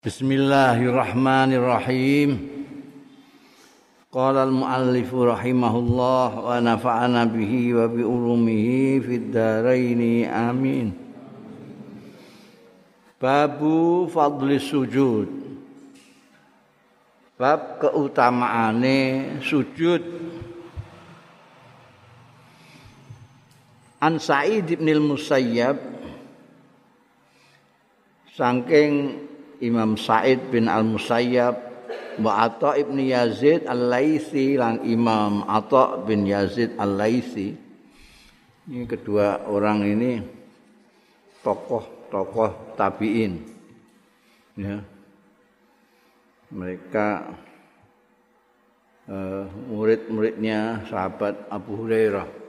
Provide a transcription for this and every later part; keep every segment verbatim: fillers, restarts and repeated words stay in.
Bismillahirrahmanirrahim. Qala al-muallif rahimahullah wa nafa'ana bihi wa bi ulumihi fid dharain amin. Babu fadli sujud. Bab keutamaane sujud. An Sa'id bin al-Musayyab saking Imam Sa'id bin Al-Musayyab wa Atha ibn Yazid Al-Laitsi lan Imam Atha bin Yazid Al-Laitsi. Ini kedua orang ini tokoh-tokoh tabi'in. Ya. Mereka uh, murid-muridnya sahabat Abu Hurairah.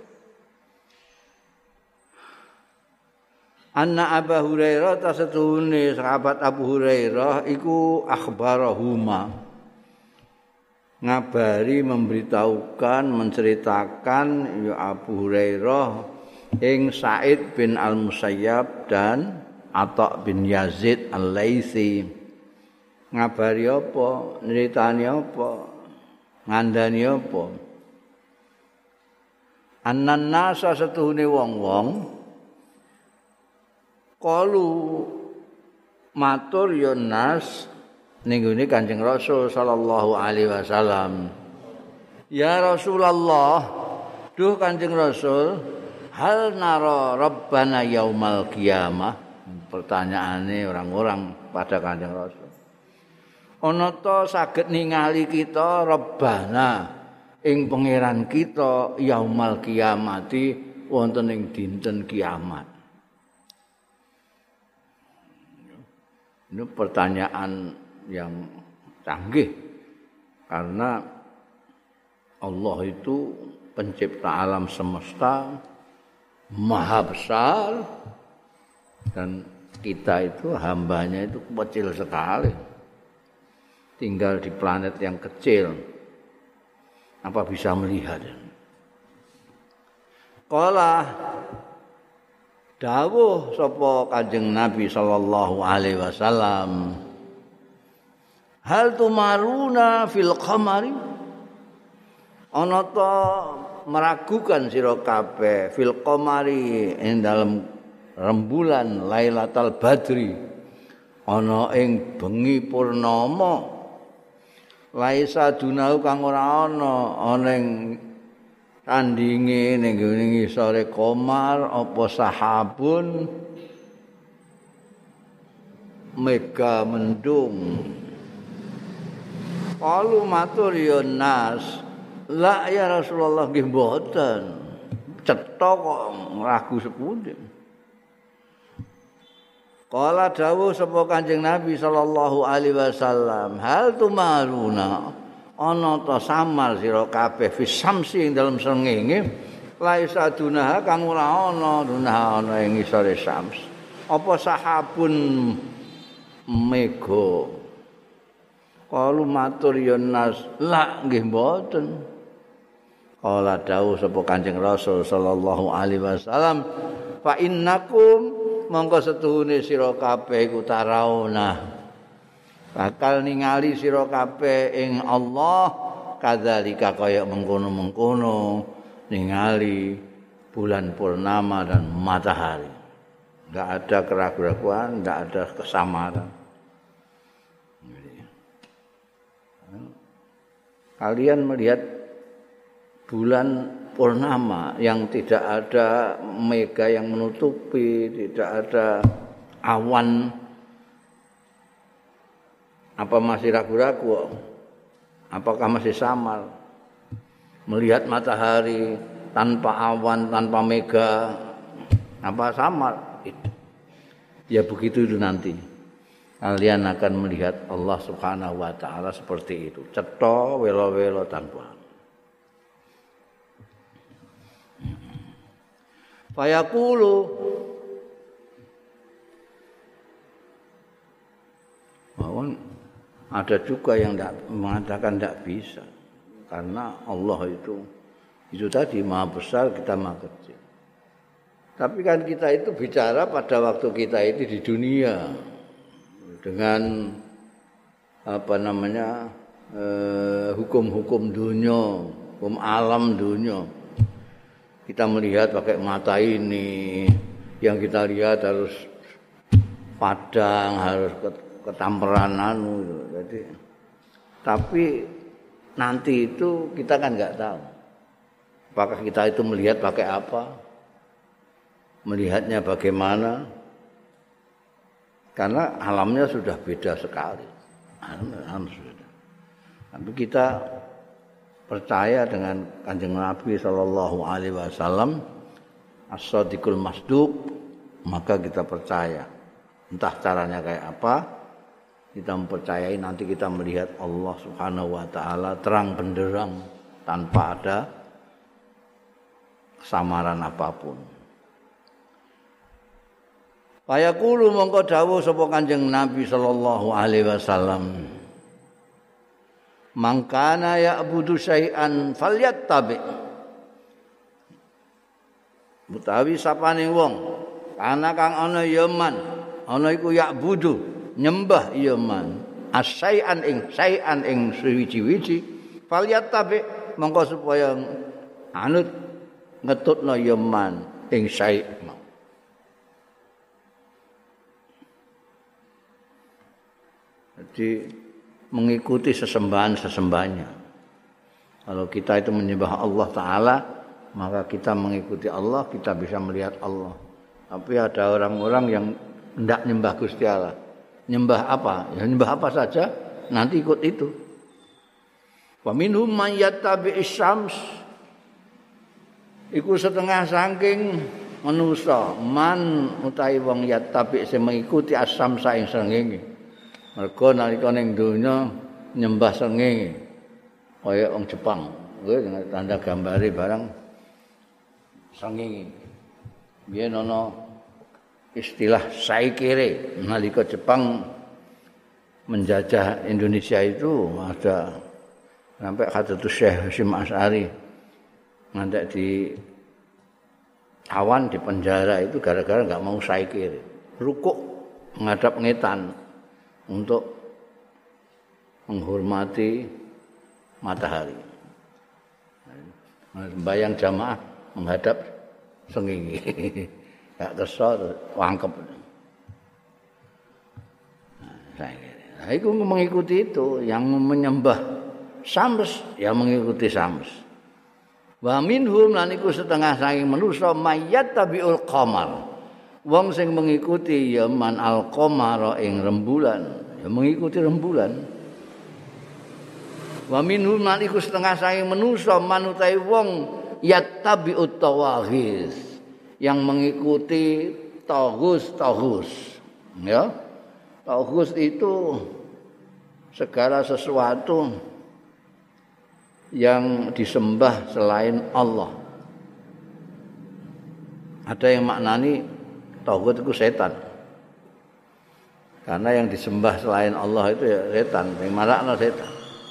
Anna Abu Hurairah tasetuhune sahabat Abu Hurairah iku akhbarahuma ngabari memberitahukan menceritakan ya Abu Hurairah ing Sa'id bin Al-Musayyab dan Atha bin Yazid Al-Laitsi. Ngabari apa, nyeritani apa, ngandani apa. Annan nasa setuhune wong-wong qalu matur ya nas ning ngene Kanjeng Rasul sallallahu alaihi wasallam. Ya Rasulullah, duh Kanjeng Rasul, hal nara rabbana yaumal qiyamah. Pertanyaane orang-orang pada Kanjeng Rasul. Ana ta saged ningali kita rabbana ing pangeran kita yaumal qiyamati wonten ing dinten kiamat. Ini pertanyaan yang canggih karena Allah itu pencipta alam semesta, maha besar, dan kita itu hambanya itu kecil sekali, tinggal di planet yang kecil. Apa bisa melihat? Qala dawuh sapa Kanjeng Nabi sallallahu alaihi wasallam, hal tumaruna fil qamari, ana ta meragukan sira kabeh fil qamari ing dalem rembulan Lailatul Badri, ana ing bengi purnama, laisa dunau kang ora ana ana ing tandinge ning ngisore komar apa sahabun mega mendung. Qalu matur ya nas, la ya Rasulullah nggih mboten. Cetha kok ragu sepundi. Qala dawuh sapa Kanjeng Nabi sallallahu alaihi wasallam, hal tumaruna ana ta samar sira kabeh fisamsi ing dalem srengenge laisa dunaha kang ora ana dunaha ana ing ngisore syams apa sahabun mega. Qalu matur ya nas, la nggih mboten. Qala dawuh sapa Kanjeng Rasul sallallahu alaihi wasallam, fa innakum mongko setuhune sira kabeh iku tarauna bakal ningali sira kabeh ing Allah kadzalika kaya mengkono-mengkono ningali bulan purnama dan matahari. Enggak ada keraguan, enggak ada kesamaran. Kalian melihat bulan purnama yang tidak ada mega yang menutupi, tidak ada awan. Apa masih ragu-ragu? Apakah masih samar? Melihat matahari tanpa awan, tanpa mega, apa samar? Ya begitu itu nanti. Kalian akan melihat Allah Subhanahu wa taala seperti itu. Cetha welo-welo tanpa. Fayaqulu bahwa ada juga yang tidak mengatakan tidak bisa karena Allah itu itu tadi maha besar, kita maha kecil. Tapi kan kita itu bicara pada waktu kita itu di dunia dengan apa namanya eh, hukum-hukum dunia, hukum alam dunia. Kita melihat pakai mata ini, yang kita lihat harus padang, harus ketamperan anu. Jadi, tapi nanti itu kita kan nggak tahu. Apakah kita itu melihat pakai apa? Melihatnya bagaimana? Karena alamnya sudah beda sekali. Alam sudah. Tapi kita percaya dengan Kanjeng Nabi sallallahu alaihi wasallam as-shadiqul masduq, maka kita percaya. Entah caranya kayak apa, kita mempercayai nanti kita melihat Allah Subhanahu wa taala terang benderang tanpa ada kesamaran apapun. Fayaqulu mongko dawuh sapa Kanjeng Nabi sallallahu alaihi wasallam, mangkana ya'budu syai'an falyattabi. Utawi sapane wong ana kang ana ya man, ana iku ya'budu nyembah ya man, asyai'an ing syai'an ing suwiji-wiji, falyattabi mongko supaya anut ngetutna ya man ing syai'. Jadi mengikuti sesembahan-sesembahannya. Kalau kita itu menyembah Allah Ta'ala, maka kita mengikuti Allah, kita bisa melihat Allah. Tapi ada orang-orang yang tidak nyembah Gusti Allah. Nyembah apa? Ya nyembah apa saja, nanti ikut itu. Wa minhum man yattabi'is syams. Iku setengah saking manusa, man utawi wong yattabi' sing mengikuti as-syamsa ing srengenge. Mergo nalika ning donya nyembah srengenge kaya wong Jepang. Kuwi tanda gambare barang srengenge. Biyen ana istilah saikere nalika Jepang menjajah Indonesia itu ada sampai Hadratus Syekh Hasyim Asy'ari ngantek di awan di penjara itu gara-gara enggak mau saikere. Rukuk menghadap ngetan untuk menghormati matahari. Bayang jamaah menghadap srengenge. Gak kersa wangkep. Nah, itu mengikuti itu, yang menyembah Syams ya mengikuti Syams. Wa minhum lan iku setengah saking manusa mayat tabiul qamar. Wong sing mengikuti ya man al-qamara ing rembulan, ya mengikuti rembulan. Wa minhum lan iku setengah saking manusa man utahe wong yattabi'ut tawaghis, yang mengikuti taghus-taghus. Ya. Taghus itu segala sesuatu yang disembah selain Allah. Ada yang maknani taghut itu setan. Karena yang disembah selain Allah itu ya setan, sing marakno setan.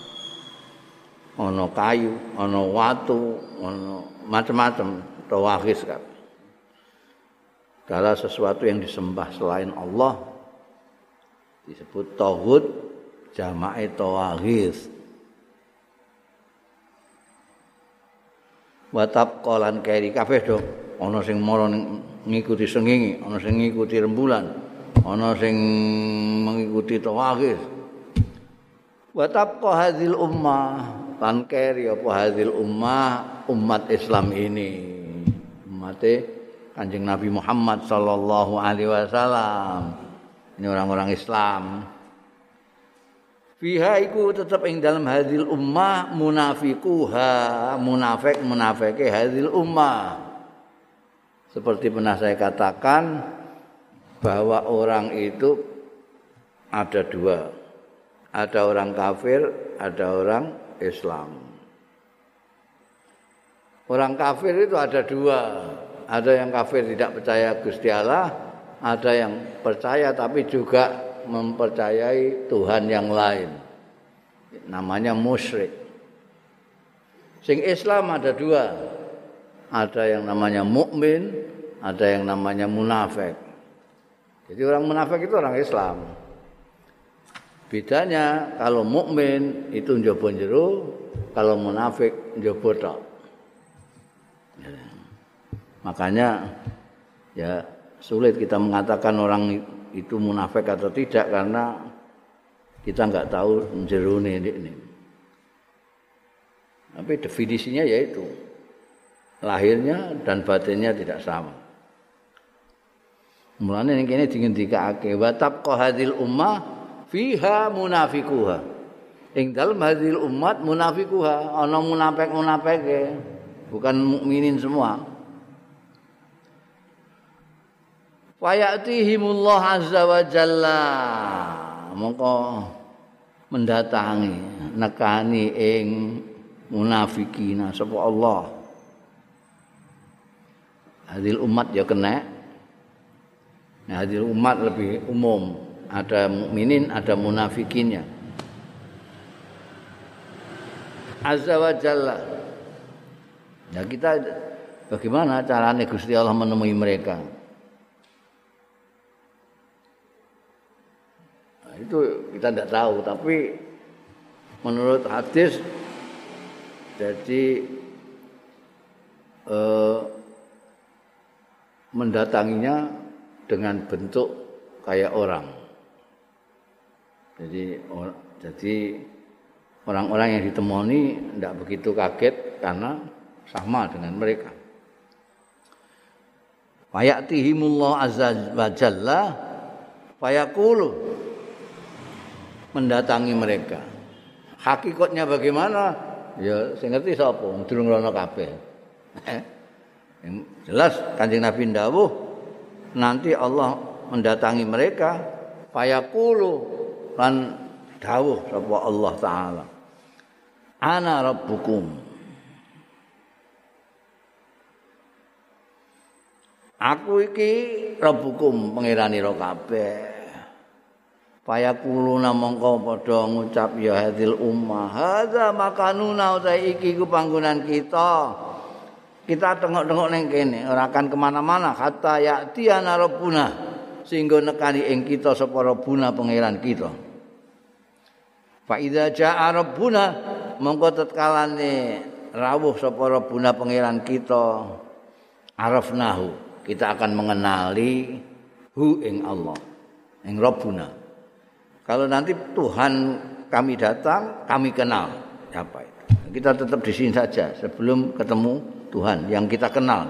Ono kayu, ono watu, ono macam-macam tawaghis kan. Segala sesuatu yang disembah selain Allah disebut taghut, jamae tawaghis. Wa tabqalan kairi kabeh do ana sing mara ngikuti srengenge, ana sing ngikuti rembulan, ana sing mengikuti tawaghis. Wa tabqa hadzal ummah, lan keri apa hadzal ummah, umat Islam ini. Umate Kanjeng Nabi Muhammad sallallahu alaihi wasallam. Ini orang-orang Islam. Fiha iku tetap ing dalam hadzal ummah munafiquha, munafik-munafike hadzal ummah. Seperti pernah saya katakan bahwa orang itu ada dua. Ada orang kafir, ada orang Islam. Orang kafir itu ada dua. Ada yang kafir tidak percaya Gusti Allah, ada yang percaya tapi juga mempercayai Tuhan yang lain. Namanya musyrik. Sing Islam ada dua. Ada yang namanya mukmin, ada yang namanya munafik. Jadi orang munafik itu orang Islam. Bedanya kalau mukmin itu njaba jero, kalau munafik njaba tok. Makanya ya sulit kita mengatakan orang itu munafik atau tidak karena kita nggak tahu jerone ini. Tapi definisinya yaitu lahirnya dan batinnya tidak sama. Mulane ning kene dingendikake wa tabqa hadhil ummah fiha munafikuha. Ing dalem hadhil umat munafikuha, ana munafik-munafike, bukan mukminin semua. Fayatihimullah azza wa jalla, mongko mendatangi nekani ing munafikina sapa Allah. Hadil umat ya kena. Nah, hadil umat lebih umum, ada mukminin, ada munafikinnya. Azza wa jalla. Nah, kita bagaimana caranya Gusti Allah menemui mereka? Nah, itu kita tidak tahu, tapi menurut hadis jadi eh, mendatanginya dengan bentuk kayak orang. Jadi or, jadi orang-orang yang ditemui tidak begitu kaget karena sama dengan mereka. Fayatihimullah azza wa jalla fayaqulu, mendatangi mereka. Hakikatnya bagaimana? Ya sing ngerti sapa? Durung rono kabeh. Jelas Kanjeng Nabi ndawuh nanti Allah mendatangi mereka fayaqulu lan dawuh sapa Allah taala. Ana rabbukum. Aku iki rabbukum pangeranira kabeh. Fayaquluna mongko padha ngucap ya hadil ummah hadza makanuna utahe iki ku panggonan kita. Kita tengok-tengok ning kene ora akan kemana-mana hatta ya'tiyana rabbuna sehingga nekani ing kita sapa rabbuna pangeran kita. Fa idza jaa rabbuna mongko tetkalane rawuh sapa rabbuna pangeran kita arafnahu, kita akan mengenali hu ing Allah ing rabbuna. Kalau nanti Tuhan kami datang, kami kenal siapa itu. Kita tetap di sini saja sebelum ketemu Tuhan yang kita kenal.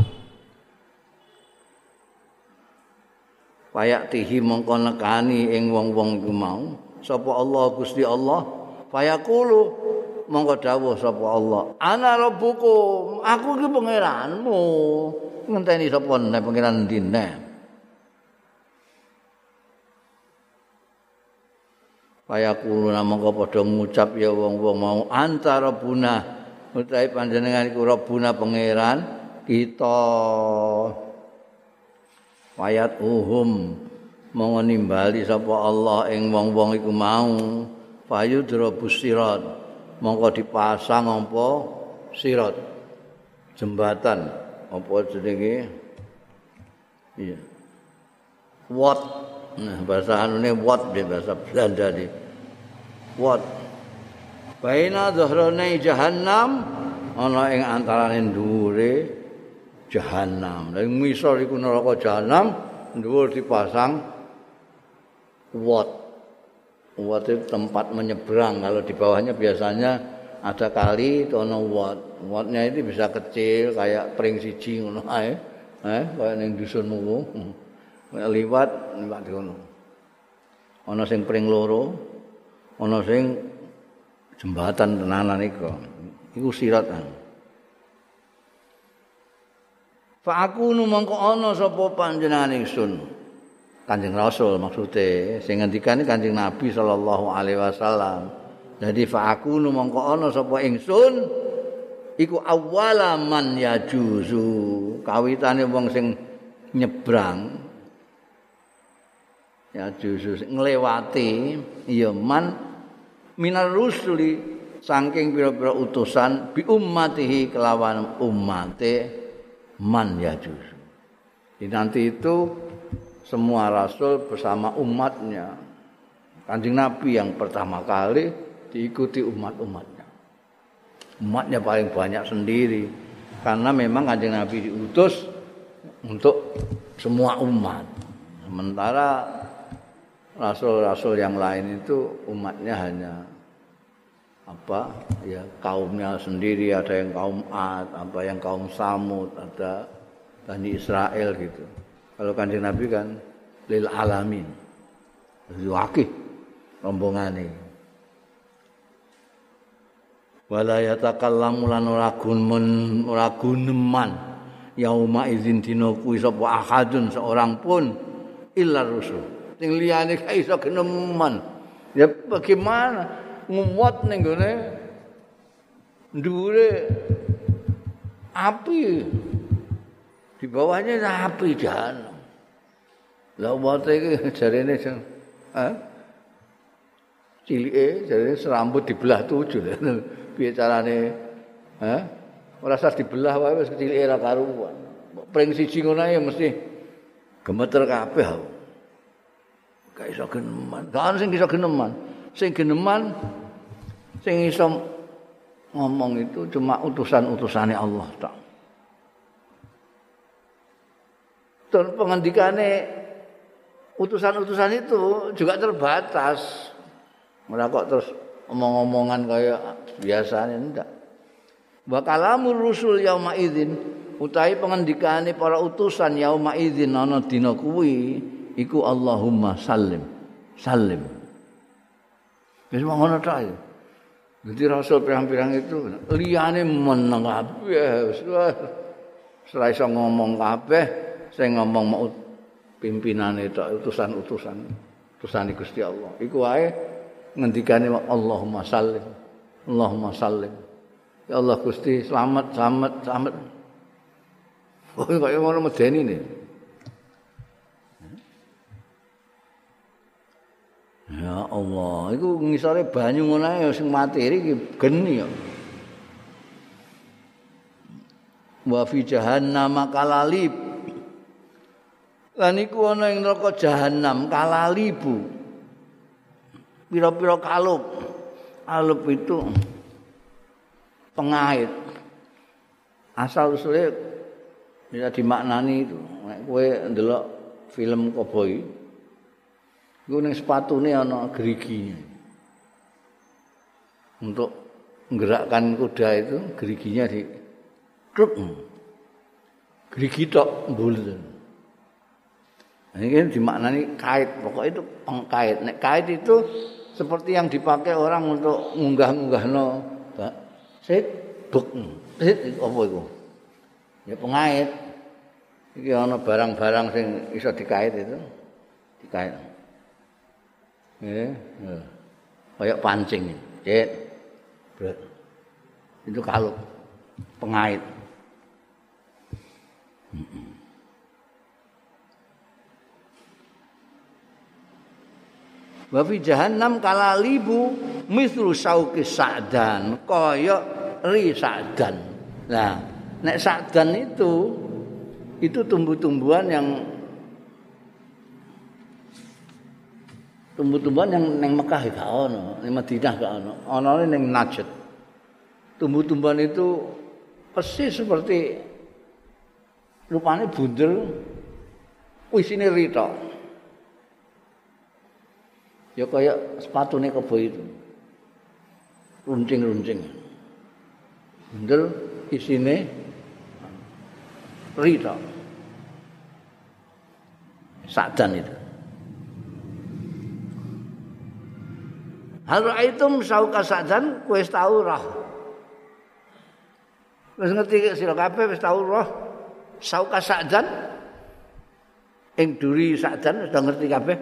Fayatihi mongko nekani ing wong-wong iku mau sapa Allah Gusti Allah fayaqulu mongko dawuh sapa Allah ana rabbukum, aku iki pangeranmu. Ngenteni sapa nek pangeran endi nek. Fayaqulu mongko padha ngucap ya wong-wong mau antara buna utahe panjenengan iku Rabbuna pangeran kita. Wayat uhum monggo nimbali sapa Allah ing wong-wong iku mau fayudra busirat monggo dipasang apa sirat jembatan apa jenenge iya wat nah bahasa anune wat di bahasa Belanda di wat baina dhahrane jahannam ana ing antarane dhuwure jahannam. Lah ngisor iku neraka jahannam, dhuwur dipasang wat. Wat itu tempat menyeberang. Kalau di bawahnya biasanya ada kali itu ana wat. Watnya itu bisa kecil kayak pring siji ngono ae. Eh, kaya ning dusunmu ku. Liwat liwat ngono. Ana sing pring loro, ana sing jembatan tenanan iku. Iku sirat kan. Fa aku nu mongko ana sapa panjenengan ingsun. Kanjeng Rasul maksude sing ngendikane Kanjeng Nabi sallallahu alaihi wasallam. Jadi fa aku nu mongko ana sapa ingsun iku awalaman yajuzu. Kawitane wong sing nyebrang yajuzu nglewati ya man minar rusuli saking pira-pira utusan bi ummatihi kelawan ummate man yajuz. Di nanti itu semua rasul bersama umatnya Kanjeng Nabi yang pertama kali diikuti umat-umatnya. Umatnya paling banyak sendiri. Karena memang Kanjeng Nabi diutus untuk semua umat. Sementara rasul-rasul yang lain itu umatnya hanya apa? Ya kaumnya sendiri, ada yang kaum Ad, apa yang kaum Samud, ada Bani Israel gitu. Kalau Kanjeng Nabi kan lil alamin. Jadi wakil rombongane. Wala yatakallamu lan ora gumun ora guneman yauma idzin dina kuwi sapa ahadun seorang pun illa rusul. Sing liyane gak iso geneman. Ya bagaimana ngumot ning gone ndure api. Di bawahnya api jahanam. Lah umat iki jarene eh cilike jarene serambut dibelah tujuh. Piye carane? Hah? Ora usah dibelah wae wis kecilike ra karuan. Pring siji ngono ya mesti gemeter kabeh. Gak iso geneman. Gak sing iso geneman. Sing geneman sing iso ngomong itu cuma utusan-utusane Allah tak. Dan pengandikane utusan-utusan itu juga terbatas. Ora kok terus omong-omongan kayak biasanya ndak. Wa kalamur rusul yauma idzin utahe pengendikane para utusan yauma idzin ana dina kuwi iku Allahumma sallim sallim. Wis ngono tok. Dadi rasul pirang-pirang itu liyane meneng kabeh wis ora iso ngomong kabeh, sing ngomong mau pimpinane tok utusan-utusan utusane Gusti Allah. Iku wae ngendikane Allahumma sallim Allahumma sallim. Ya Allah Gusti selamat selamat selamat. Oh kaya ngono medeni ne. Ya Allah, iku ngisore banyu ngono ae sing materi iki geni ya. Wa fi jahannam kalalib. Lan iku ana ing neraka jahanam kalalibu. Pira-pira kalup. Kalup itu pengait. Asal usule bisa dimaknani itu. Nek kowe ndelok film koboi, iku ning sepatune ana geriginya. Untuk menggerakkan kuda itu geriginya di truk. Gerigi tok mbul. Ini dimaknani kait, pokoknya itu pengkait. Nek kait itu seperti yang dipakai orang untuk ngunggah-ngunggahno, Pak. Sit, buk. Sit apa iku? Ya pengait. Iki ana barang-barang sing iso dikait itu. Dikait. Nggih, ya. Kayak pancing. Sit. Bret. Itu kalup pengait. Heeh. Wa fi jahannam kalalibu mithlu sauqi sa'dan kaya ri sa'dan. Nah, nek sa'dan itu itu tumbuh-tumbuhan yang tumbuh-tumbuhan yang ning Mekah gak ono, ning Madinah gak ono. Onone ning Najd. Tumbuh-tumbuhan itu persis seperti rupane bundel isine ri tok. Ya kayak sepatune kebo itu. Runcing-runcing. Bundel isine rita. Sa'dan itu. Hal ra'aitum sauka sa'dan kowe wis tau roh. Wis ngerti sira kabeh wis tau roh sauka sa'dan ing duri sa'dan sudah ngerti kabeh.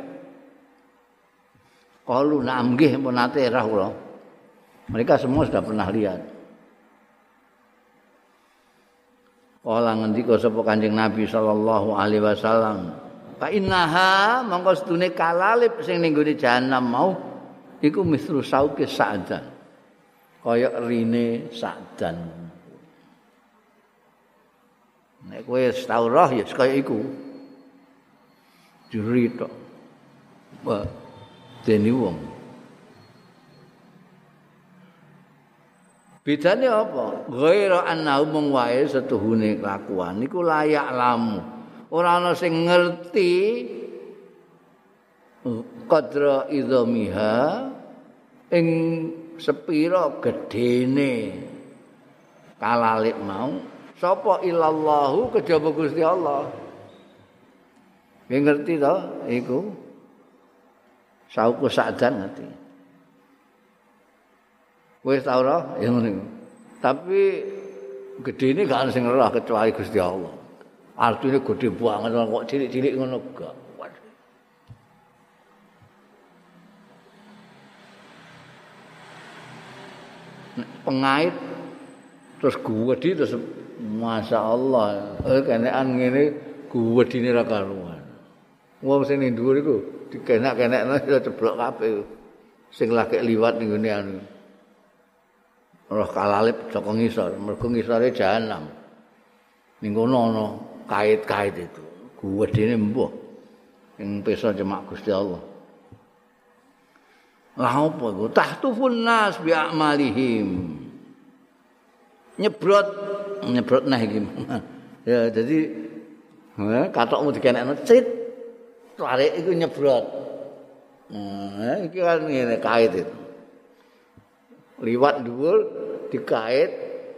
Qalu na'am nggih pun nate roh kula. Mereka semua sudah pernah lihat. Kala ngendika sapa Kanjeng Nabi sallallahu alaihi wasallam, "Fa innaha mongko sedune kalalib sing ning gone jahanam mau iku misru sauke sa'dan." Kaya rine sa'dan. Nek kowe wis tau roh ya kaya iku. Juri tok. Wah, deni wong. Bedane apa? Ghaira annahu mung wae setuhune kelakuan niku layak lamu. Ora ana sing ngerti qadra idzamiha ing sepira gedene kalalip mau sapa illallahu kejaba Gusti Allah. Nggih ngerti to iku? Sauku sadan ngerti. Wis ta ora ya ngono. Tapi gedene gak ana sing ora kecuali Gusti Allah. Artine gede banget kok cilik-cilik ngono gak. Pengait terus guwedi terus Masya Allah eh kenekan ngene guwedine ra karuan. Wong sing ning dhuwur iku dikenak-kenekno iso ceblok kabeh. Sing lagi liwat ning ngene anu. Roh kalalip saka ngisor, mergo ngisore jahanam. Ning kono ana kait-kait itu. Guwedine mbuh. Ing pesa cemak Gusti Allah. Lah apa iku? Tahtufun nas bi a'malihim. Nyebrot, nyebrot nah iki. Ya jadi eh katokmu dikenekno cit. Tarik iku nyebrot. Nah, iki kan ngene kait itu. Liwat dhuwur dikait.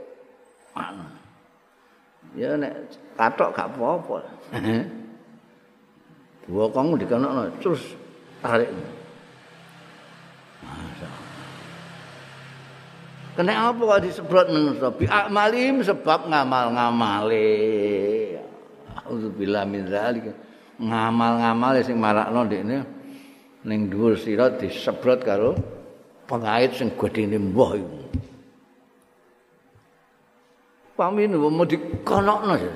Ya nek katok gak apa-apa. Bokongmu dikenekno terus tarik. Kena apa kok disebrot manusa? Bi a'malim sebab ngamal-ngamale. Auzubillah min dzalik. Ngamal-ngamale sing marakno ndekne ning dhuwur sirat disebrot karo pengait sing gedene mbah iku. Pamin mau dikonokno ya.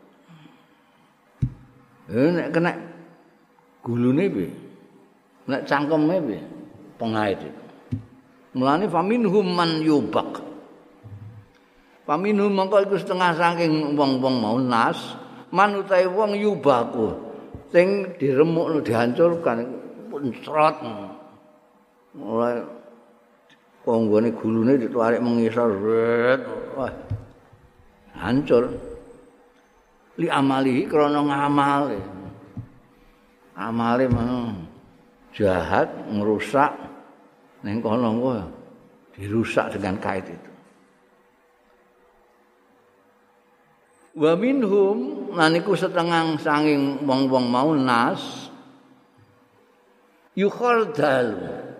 Eh nek kena gulune piye? Nek cangkeme piye? Pengait itu. Mulane faminhum man yubak. Faminhum mongko iku setengah saking wong-wong mau nas, man utahe wong yubaku sing diremukno dihancurkan puncrot. Mulai konggone gulune ditarik mengisor. Wah. Hancur. Li amalihi krana ngamale. Amale mah jahat, ngerusak ning kono kok dirusak dengan kait itu. Wa minhum naniku setengah sanging wong-wong mau nas yukhardal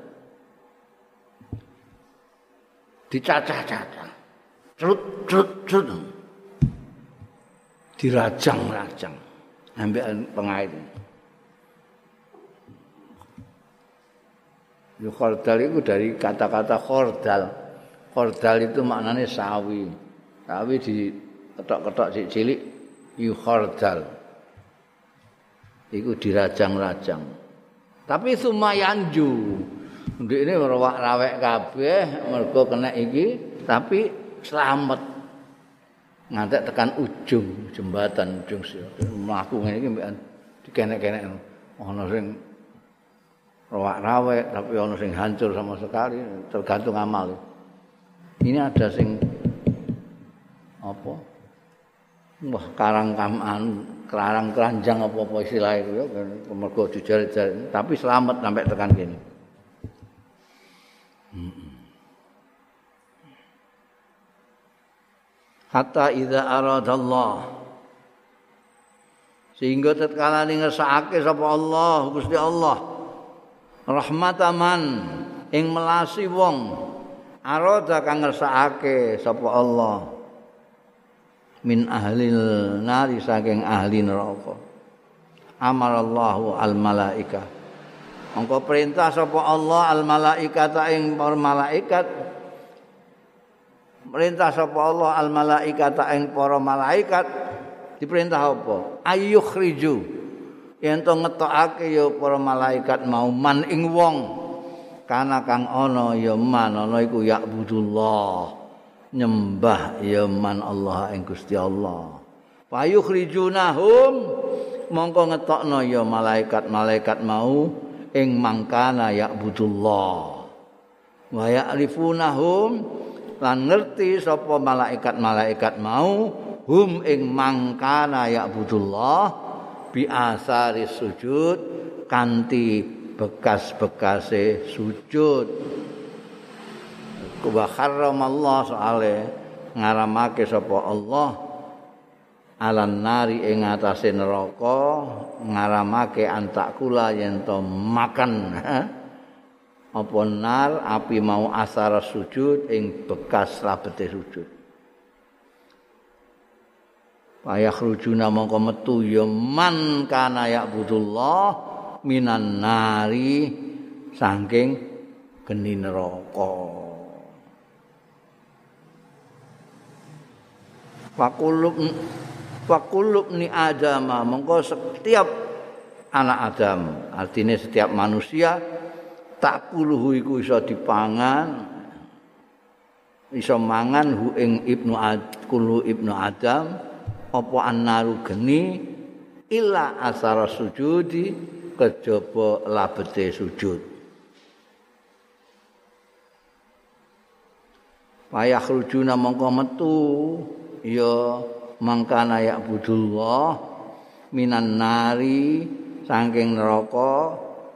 dicacah-cacah. Trut-trut-trut. Dirajang-rajang ambek pengait. Yo khordal itu dari kata-kata khordal. Khordal itu maknanya sawi. Sawi di ketok-ketok cilik yu khordal. Iku dirajang-rajang. Tapi sumayanju. Ndekne rawak-rawek kabeh mergo kena iki tapi selamat. Ngantek tekan ujung jembatan ujung mlaku ngene iki mbek dikenek-kenek ana sing rawak-rawek tapi ono sing hancur sama sekali tergantung amal. Ini ada sing apa? Wah, karang kaman, karang keranjang apa-apa istilah itu ya mergo dijar-jar tapi selamat sampai tekan kene. Hatta idza aradallah sehingga tatkala ngersakake sapa Allah Gusti Allah rahmataman ing melasi wong arada kang ngersakake sapa Allah min ahlil nari saking ahli neraka amarallahu al malaika mongko perintah sapa Allah al malaikata ing para malaikat perintah sapa Allah al malaikata ing para malaikat diperintah apa ayyukhriju yen to ngetokake ya para malaikat mau man ing wong kana kang ana ya man ana iku ya'budullah nyembah ya man Allah ing Gusti Allah payukhrijunahum mongko ngetokno ya malaikat-malaikat mau ing mangkana ya'budullah wa ya'rifunahum lan ngerti sapa malaikat-malaikat mau hum ing mangkana ya'budullah bi asari sujud kanthi bekas-bekase sujud wa harramallah soale ngaramake sapa Allah alan nari ing atase neraka ngaramake antakula yen to makan apa nar api mau asar sujud ing bekas labete sujud payah rujuna mongko metu ya man kana ya'budullah minan nari saking geni neraka Fakulub fakulub ni Adama mongko setiap anak Adam artinya setiap manusia takuluhu iku iso dipangan iso mangan hu ing ibnu ad kulu ibnu Adam apa annaru geni illa asara sujudi kejaba labete sujud payah rujuna mongko metu ya mangkana ya'budullah minan nari saking neraka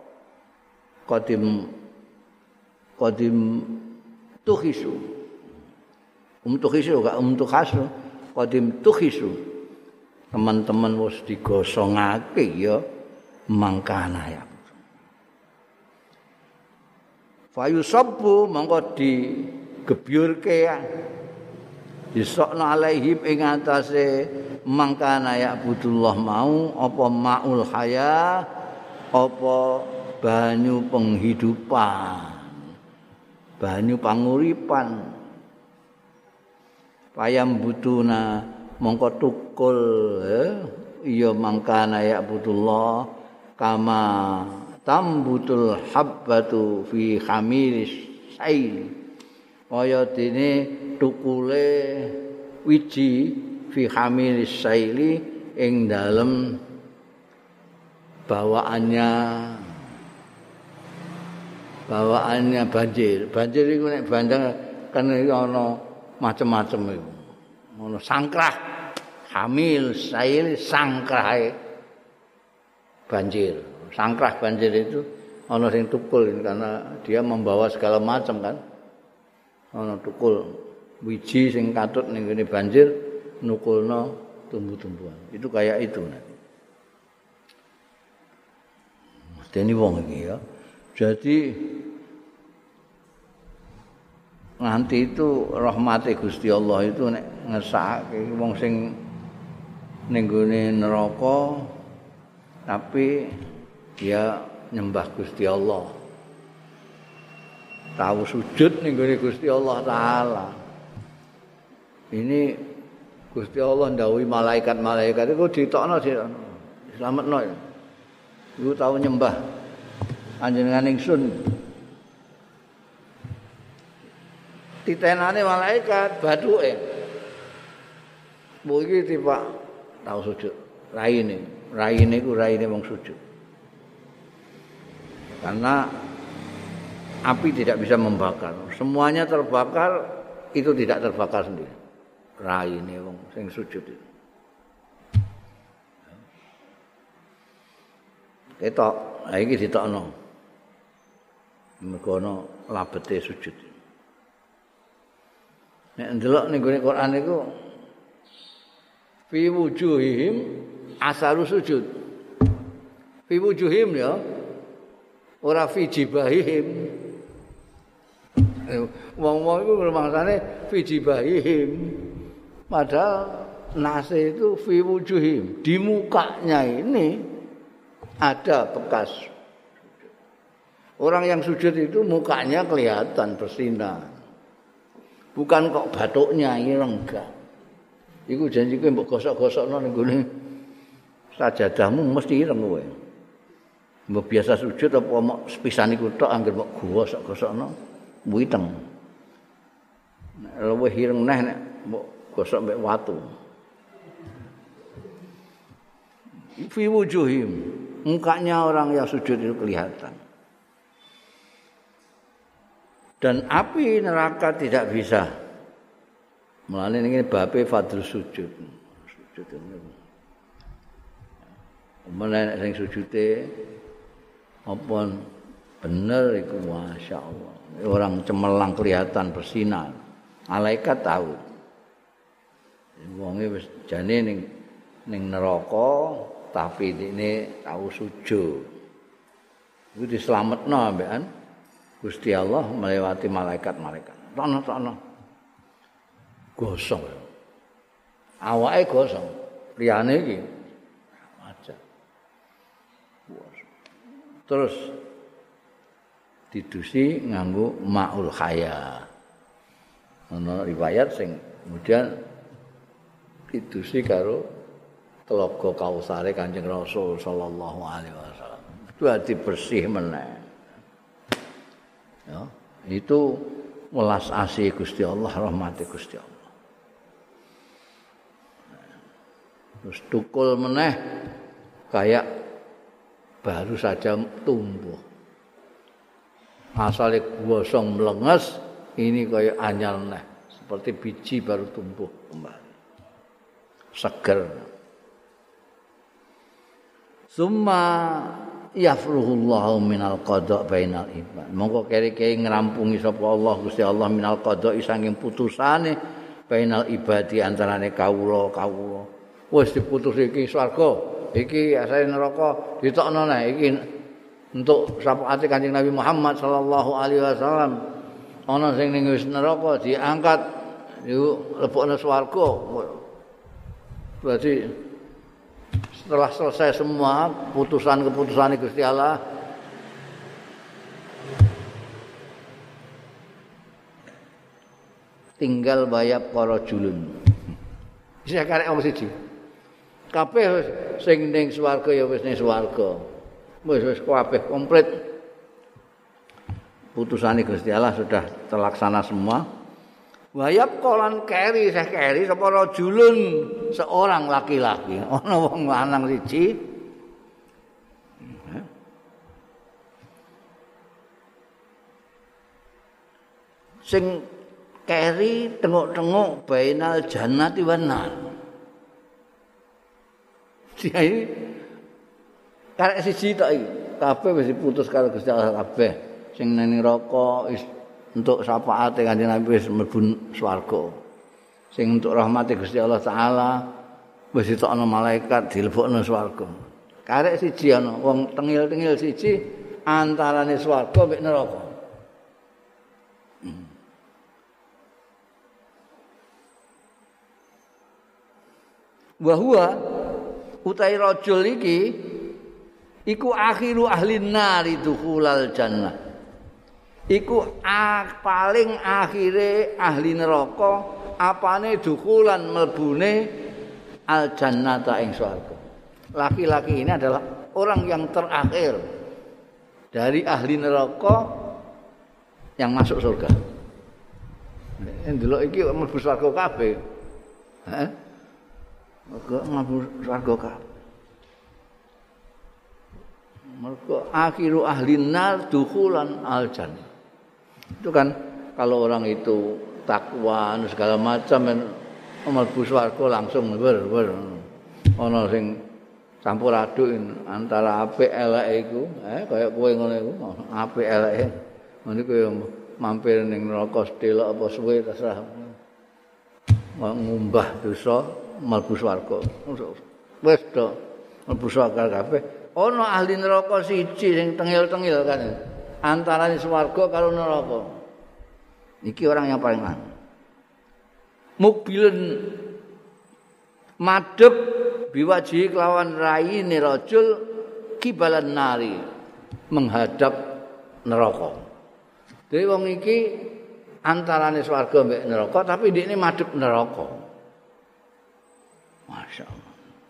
qadim qadim tuhisu um tuhisu gak um tuhasu qadim tuhisu teman-teman wis digosongake ya mangkana ya fayusabbu mongko digebyurke ya disokna alaihim ing atase mangkana ya'budullah mau apa maul haya apa banyu penghidupan banyu panguripan payam butuna mongko tukul eh, iya mangkana ya'budullah kama tambutul habbatu fi khamiris sail kaya dene tukule wiji fi hamilis saili ing dalem bawaannya bawaannya banjir banjir iku nek bandang kan ana macem-macem iku ngono sangkrah hamil sail sangkrahe banjir sangkrah banjir itu ana sing tukul karena dia membawa segala macam kan ana tukul wiji sing katut ning ngene banjir nukulno tumbuh-tumbuhan. Itu kayak itu nanti. Dene wong iki ya. Jadi nanti itu rahmate Gusti Allah itu nek ngesake wong sing ning gone neraka tapi dia nyembah Gusti Allah. Tahu sujud ning gone Gusti Allah taala. Ini Gusti Allah ndhawuhi malaikat-malaikat iku ditokno dislametno. Iku tahu nyembah panjenengan ingsun. Titenane malaikat bathuke. Mbok iki tiba tahu sujud. Raine, raine iku raine wong sujud. Karena api tidak bisa membakar. Semuanya terbakar, itu tidak terbakar sendiri. Raine wong sing sujud itu. Ketok, ha iki ditokno. Mergo ana labete sujud. Nek ndelok ning gone Quran niku fi wujuhihim asaru sujud. Fi wujuhim ya. Ora fi jibahihim. Wong-wong iku rumangsane fi jibahihim. Padahal nase itu fi wujuhim. Di mukanya ini ada bekas. Orang yang sujud itu mukanya kelihatan bersinar. Bukan kok batuknya ireng enggak. Iku janji kowe mbok gosok-gosokno ning gone sajadahmu mesti ireng kowe. Mbok biasa sujud apa mok sepisan iku tok anggere mbok gosok-gosokno witeng. Nek luwih ireng neh nek mbok gosok mbek watu. Fi wujuhim, mukanya orang yang sujud itu kelihatan. dan api neraka tidak bisa. Mulane ini babe fadl sujud. Sujud ini. Menek sing sujude apa bener iku masyaallah. Orang cemerlang kelihatan bersinar. Malaikat tahu. Wonge wis jane ning ning neraka tapi ini tahu sujud. Itu dislametno ambekan Gusti Allah melewati malaikat-malaikat. Tono-tono. Gosong. Awake gosong. Liyane iki terus didusi nganggo maul khaya. Ana riwayat sing kemudian didusi karo telaga Kausare Kanjeng Rasul sallallahu alaihi wasallam. Itu hati bersih meneh. Ya, itu welas asih Gusti Allah, rahmati Gusti Allah. Terus tukul meneh kayak baru saja tumbuh. Asale gosong melenges, ini kayak anyar neh, seperti biji baru tumbuh kembali. Seger. Summa yafruhullahu minal qada bainal ibad. Monggo keri-keri ngrampungi sapa Allah Gusti Allah minal qada saking putusane bainal ibadi antarane kawula-kawula. Wis diputus iki swarga. Iki asale neraka ditokno neh iki untuk syafaate Kanjeng Nabi Muhammad sallallahu alaihi wasallam. Ana sing ning wis neraka diangkat yuk lebokne swarga. Berarti setelah selesai semua putusan-keputusan Gusti Allah tinggal bayap para julun. Wis karek wong siji. Kabeh sing ning swarga ya wis ning swarga. Wis wis kabeh komplit. Putusane Gusti Allah sudah terlaksana semua. Wayap kolan keri seh keri sapa rajulun seorang laki-laki. Ana wong lanang siji. Sing keri tengok-tengok bainal jannati wan nar. Jadi karek siji tok iki. Kabeh wis diputus karo Gusti Allah kabeh. Sing nang neraka untuk syafaate Kanjeng Nabi wis mlebu swarga. Sing untuk rahmate Gusti Allah taala wis ditokno malaikat dilebokno swarga. Karek siji ana wong tengil-tengil siji antarane swarga mek neraka. Hmm. Wa huwa utai rajul iki iku akhiru ahli nari dukhulal jannah. Iku paling akhire ahli neraka apane dukhulan mlebune al jannata ing swarga. Laki-laki ini adalah orang yang terakhir dari ahli neraka yang masuk surga. Ndelok iki mlebu swarga kabeh. Heeh. Mergo mlebu swarga kabeh. Mergo akhiru ahli nar dukhulan al jannah. Itu kan kalau orang itu takwa segala macam mlebu swarga langsung ber ber ana sing campur aduk antara apik eleke iku eh kaya kowe ngono iku apik eleke ngene kowe mampir ning neraka sedelok apa suwe terserah ngumbah dosa mlebu swarga wis do mlebu swarga kabeh ana ahli neraka siji sing tengil-tengil kan antarané swarga karo neraka. Iki orang yang paling lanang. Mukbilen madhep biwaji kelawan raine rajul kibalan nari menghadap neraka. Dadi wong iki antarané swarga mbek neraka tapi ndekne madhep neraka. Masyaallah.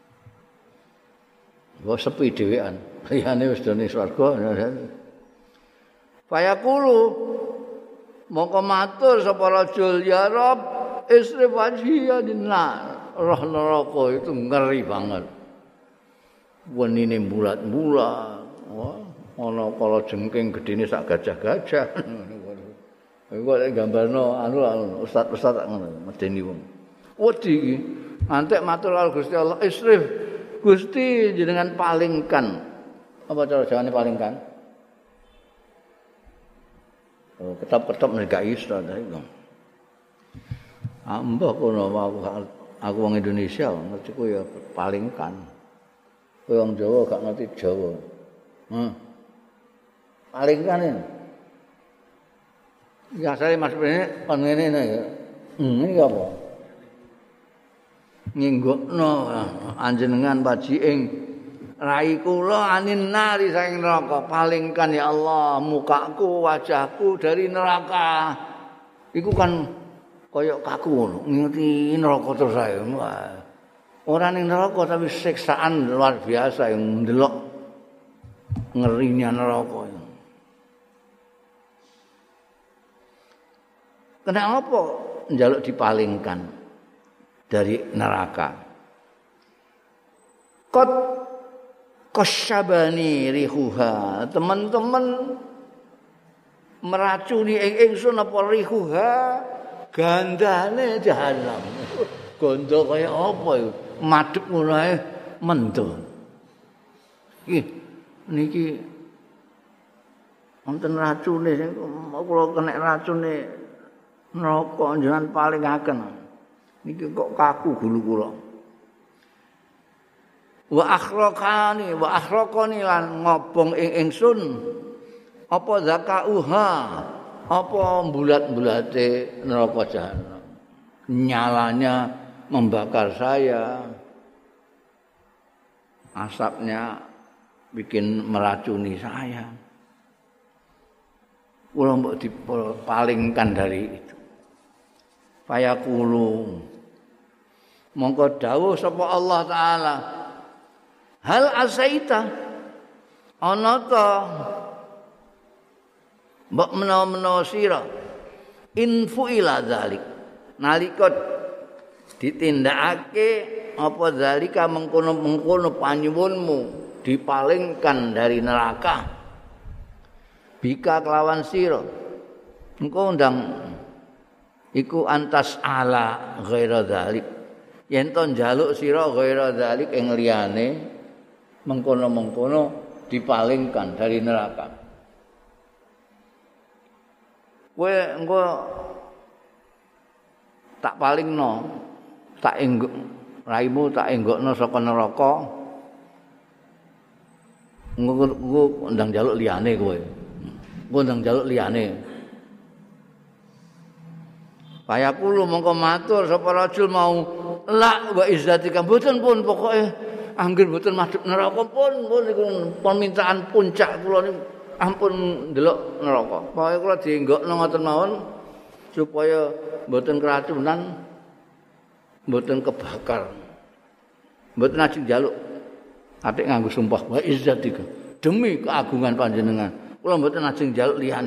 Wong sepi dhewean. Liyane wis dene swarga. Fayaqulu mongko matur sapa rajul ya Rabb isrif wajhiya dinnar. Roh neraka itu ngeri banget. Wenine bulat-bulat. Wah, ana kala jengking gedene sak gajah-gajah. Kok gambarno anu ustaz-ustaz ngono medeni wong. Wedi iki. Antek matur karo Gusti Allah, "Isrif, Gusti jenengan palingkan." Apa cara jawane palingkan? Oh, ketop-ketop nek gak iso ta iku. Ambah kono aku aku wong Indonesia ngerti ku ya palingkan. Kowe wong Jawa gak ngerti Jawa. Heh. Palingkan ini. Ya saya Mas Bene kon ngene ya. Hmm iki apa? Nginggokno anjenengan paji ing rai kula anin nari saking neraka. Palingkan ya Allah mukaku, wajahku dari neraka. Iku kan kaya kaku ngono, ngerti neraka terus ae. Ora ning neraka tapi siksaan luar biasa yang ndelok ngerinya neraka. Kenapa njaluk dipalingkan dari neraka? Kot kosyabani rihuha, teman-teman meracuni ing ingsun apa rihuha gandane jahanam. Gondo kaya apa iku? Madhep ngono ae mendo. Iki niki wonten racune sing kula kena racune neraka njenengan palingaken. Niki kok kaku gulu kula. Wa akhraqani wa akhraqani lan ngobong ing ingsun apa zakauha apa bulat-bulate neraka jahanam. Nyalanya membakar saya. Asapnya bikin meracuni saya. Kula mbok dipalingkan dari itu. Fayaqulu mongko dawuh sapa Allah taala hal asaita ana ta mbok menawa-menawa sira infu ila zalik nalika ditindakake apa zalika mengkono-mengkono panyuwunmu dipalingkan dari neraka bika kelawan sira engko ndang iku antas ala ghaira dzalik yen to njaluk sira ghaira dzalik ing liyane mengkono-mengkono dipalingkan dari neraka kowe engko tak palingno tak enggok raimu tak enggokno saka neraka engko ndang njaluk liyane kowe engko ndang njaluk liyane Fayaqulu mongko matur sapa rajul mau la wa izzatika mboten pun pokoke anggere mboten madhep neraka pun pun niku permintaan puncak kula niku ampun ndelok neraka. Pokoke kula dienggokno ngoten mawon supaya mboten keracunan mboten kebakar. Mboten ajeng njaluk atik nganggo sumpah wa izzatika demi keagungan panjenengan kula mboten ajeng njaluk liyane.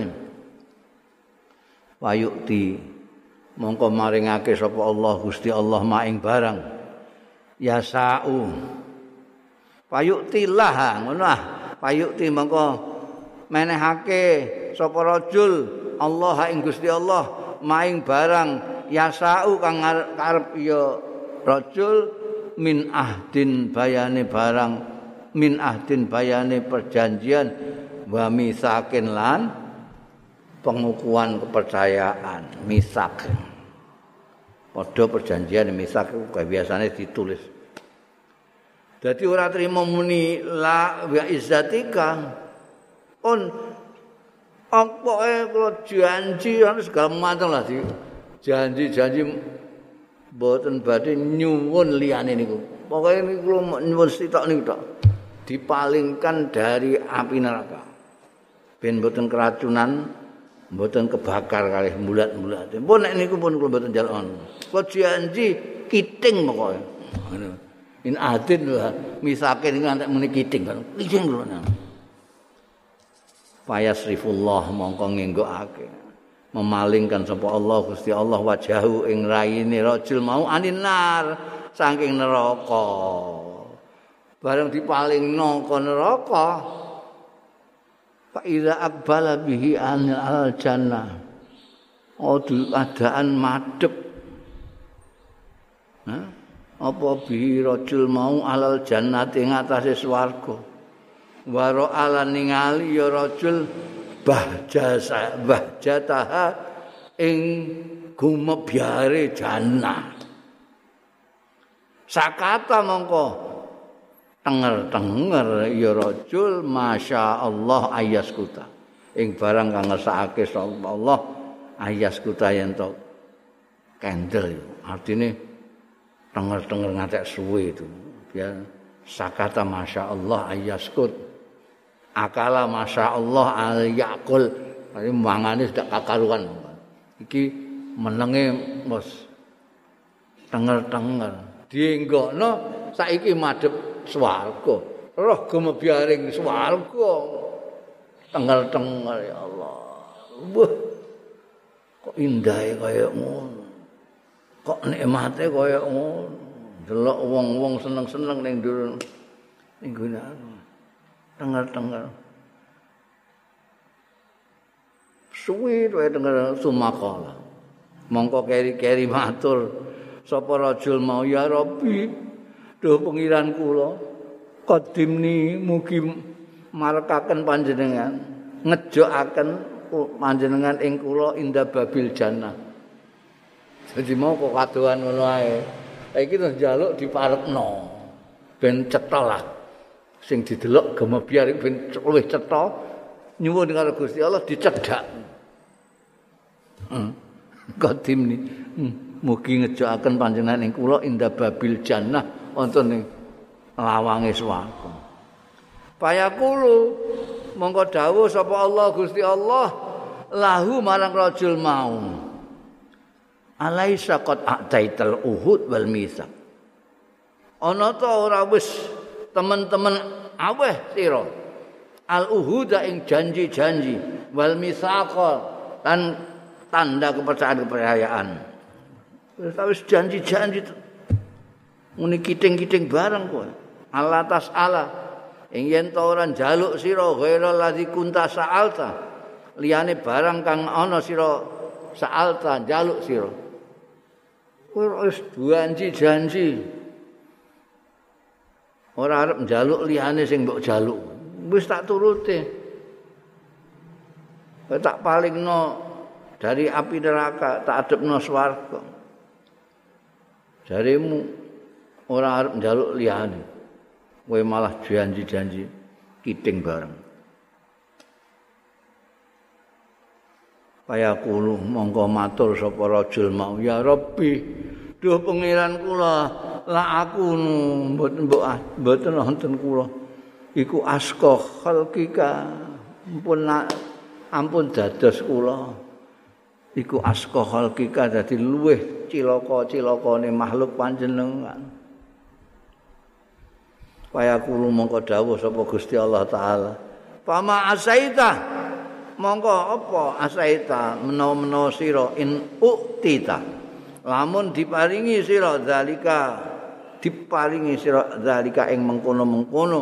Wayukti mongko maringake sapa Allah Gusti Allah maing barang yasau payuktilah ngono ah payukti mongko menehake sapa rajul Allah ing Gusti Allah maing barang yasau kang karep ya rajul min ahdin bayane barang min ahdin bayane perjanjian wa misakin lan pengukuhan kepercayaan misak padha perjanjian misak kaya biasane ditulis dadi ora trimo muni la wa izzatika on apa kula janji ana segala macam lah di janji-janji mboten badhe nyuwun liyane niku pokoke niku kula nyuwun sitok niku tok dipalingkan dari api neraka ben mboten keracunan mboten kebakar kalih mulat-mulat. Pun nek niku pun kula mboten njaluk. Kula janji kiting pokoke. Ngono. In adin lho misake niku antek muni kiting kan. Kiting kula. Fayasrifullah mongko ngenggokake. Memalingkan sapa Allah Gusti Allah wajahu ing raine rajul mau aninar saking neraka. Bareng dipalingno ka neraka fa iza aqbala bihi al jannah Adu adaan madhep. Hah? Apa bi rajul mau alal jannati ing atase swarga. Waro ala ningali ya rajul bahjasa bahjataha ing gumebyare jannah. Sakata mongko tenger-tenger ya rajul masyaallah ayaskuta. Ing barang kang ngersakake sapa Allah ayaskuta yen to kendel. Artine tenger-tenger ngantek suwe itu. Ya sakata masyaallah ayaskut. Akala masyaallah al yakul. Tapi mangane sudah kakaruan. Iki menenge mos tenger-tenger. Dienggokno saiki madhep swarga. Roh gumebyaring swarga. Tenger-tenger ya Allah. Wah. Kok indahe kaya ngono. Kok nikmate kaya ngono. Delok wong-wong seneng-seneng ning ndur ning gone tenger-tenger. Suwi wae tenger sumakala. Mongko keri-keri matur sapa rajul mau ya Rabbi, duh pengiran kula, qadimni mugi marekaken panjenengan, ngejokaken panjenengan ing kula inda babil jannah. Jadi mau kok kadoan ngono ae. Saiki terus njaluk diparepno. Ben cetha lah. Sing didelok gemebyar ben luwih cetha nyuwun karo Gusti Allah dicedhak. Hmm. Qadimni hmm. Mugi ngejokaken panjenengan ing kula inda babil jannah wonten ing lawange swarga. Payakulu mongko dawuh sapa Allah Gusti Allah lahu marang rajul mau. Alaisa qad a'taital uhud wal mitsaq. Ana ta ora wis teman-teman aweh sira al uhuda ing janji-janji wal mitsaq lan tanda kepercayaan-kepercayaan. Wis janji-janji muni kiting-kiting bareng kowe. Allah tasala ing yen ta ora njaluk sira ghaira ladzi kunta sa'alta liyane barang kang ana sira sa'alta njaluk sira. Kowe wis janji-janji. Ora arep njaluk liyane sing mbok jaluk. Wis tak turuti. Kowe tak palingno dari api neraka, tak adepno swarga. Jarimu ora arep njaluk liyane. Kowe malah janji-janji kiting bareng. Kaya kulo mongko matur sapa rajul mau ya Rabbi duh pangeran kula la aku mboten mboten wonten kula iku aska khalqika ampun ampun dados kula iku aska khalqika dadi luweh cilaka-cilakane makhluk panjenengan. Kaya kulo mongko dawuh sapa Gusti Allah taala pama asaita mongko apa asaita menawa-menawa sira in uktita lamun diparingi sira zalika diparingi sira zalika ing mengkono-mengkono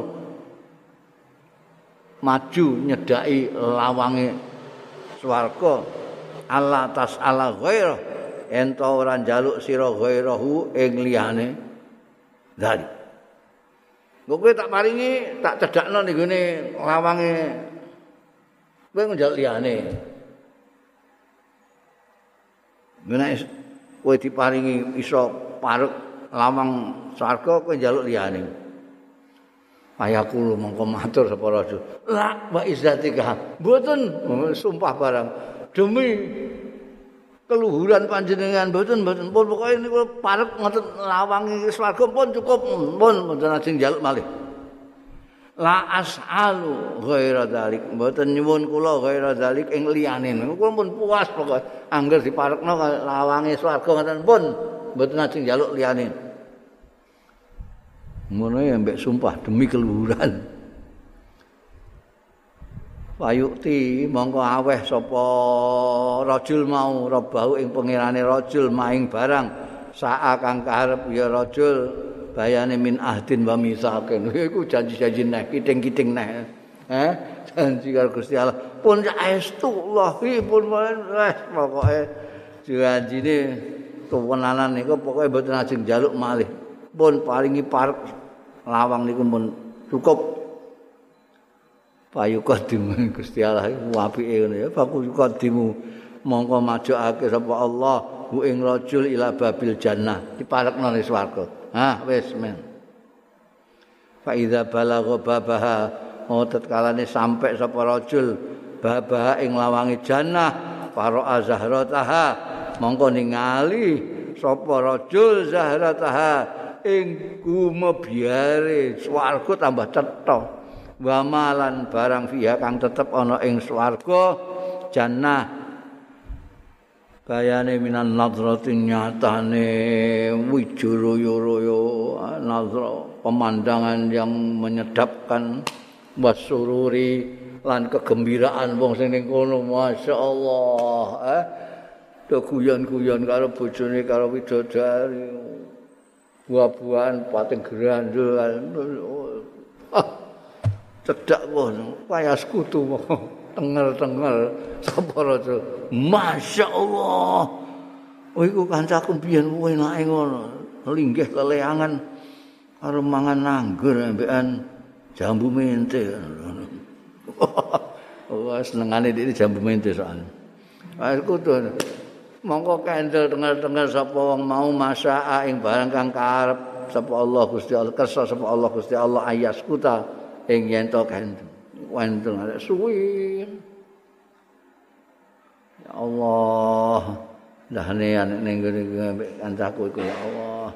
maju nyedaki lawange swarga Allah tasala ghaira ento ora njaluk sira ghairahu ing liyane zalik. Kowe tak paringi tak cedhakno ning gone lawange kowe njaluk liyane. Menawa kowe diparingi iso parek lawang swarga kowe njaluk liyane. Ayaku mongko matur sapa rajul. La wa izzatika. Mboten sumpah barang demi keluhuran panjenengan mboten mboten pun pokoke niku parek ngoten lawange swarga pun cukup pun mboten ajeng njaluk malih. La as'alu ghaira dzalik mboten nyuwun kula ghaira dzalik ing liyane kula pun puas pokoke angger diparekno lawange swarga ngoten pun mboten ajeng njaluk liyane ngono ya mbek sumpah demi keluhuran. Payukti mongko aweh sapa rajul mau robahu ing pangerane rajul maing barang saa kang karep ya rajul bayane min ahdin wa misakin. Iku janji-janji neh, kiting-kiting neh. Eh, janji karo Gusti Allah. Pun saestu Allahi pun wis pokoke janjine kewenanan niku pokoke mboten ajeng njaluk malih. Pun paringi parek lawang niku pun cukup. Payukadimu Gusti Allah iku apike ngono ya. Payukadimu mongko majokake sapa Allah hu ing rajul ila babil jannah. Diparekno ning swarga. Hah wis men. Fa iza balagha babaha oh tatkalane sampai sapa rajul babaha ing lawange jannah para azhrataha mongko ningali sapa rajul zahrataha ing gumebyare swarga tambah cetha wa malan barang fiha kang tetep ana ing swarga jannah bayane minan nadratin nyatane wijuraya-raya nazra pemandangan yang menyedapkan wasururi lan kegembiraan wong sing ning kono masyaallah eh do guyon-guyon karo bojone karo widodari buah-buahan pating grandul ah cedak ngono kaya sekutu tenger-tenger sapa raja masyaallah oh iku kancaku biyen enake ngono linggih leleangan karo mangan anggur ambekan jambu mente. Wah senengane iki jambu mente soalnya. Wis kudu. Mongko kendel tengah-tengah sapa wong mau masaa ing barang kang karep sapa Allah Gusti Allah kersa sapa Allah Gusti Allah ayas kuta ing yen to kendel. Wonten arek suwi. Ya Allah. Ndahne anek ning ngene kancaku iku ya Allah.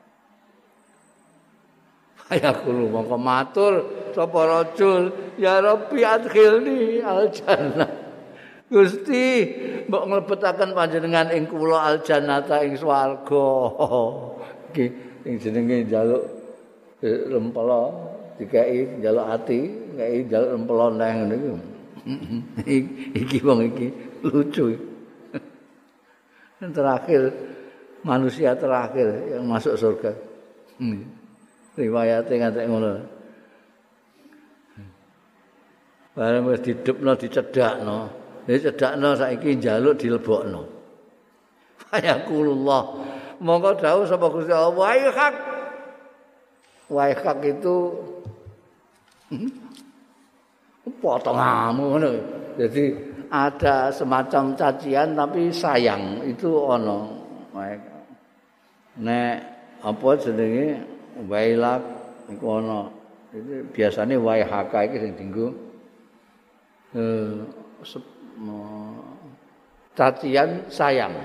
Ayakulu mongko matur sapa rajul ya Rabbi adkhilni al-jannah. Gusti mbok mlebetaken panjenengan ing kula al-jannata ing swarga. Iki sing jenenge njaluk rempela dikeki njaluk ati, ngeki njaluk rempela nang niku. Iki wong iki lucu. Yang terakhir manusia terakhir yang masuk surga. Hmm. Riwayate ngatek ngono. Bareng wis didepno dicedhakno. Wis cedhakno saiki njaluk dilebokno. Fayakulullah. Monggo dawuh sapa Gusti Allah, "Wahai hak." Wahai hak itu potonganmu ngono. Jadi ada semacam cacian tapi sayang itu ana. Nek apa jenenge wailak iku ana. Iki biasane waihaka iki sing dienggo eh cacian sayang.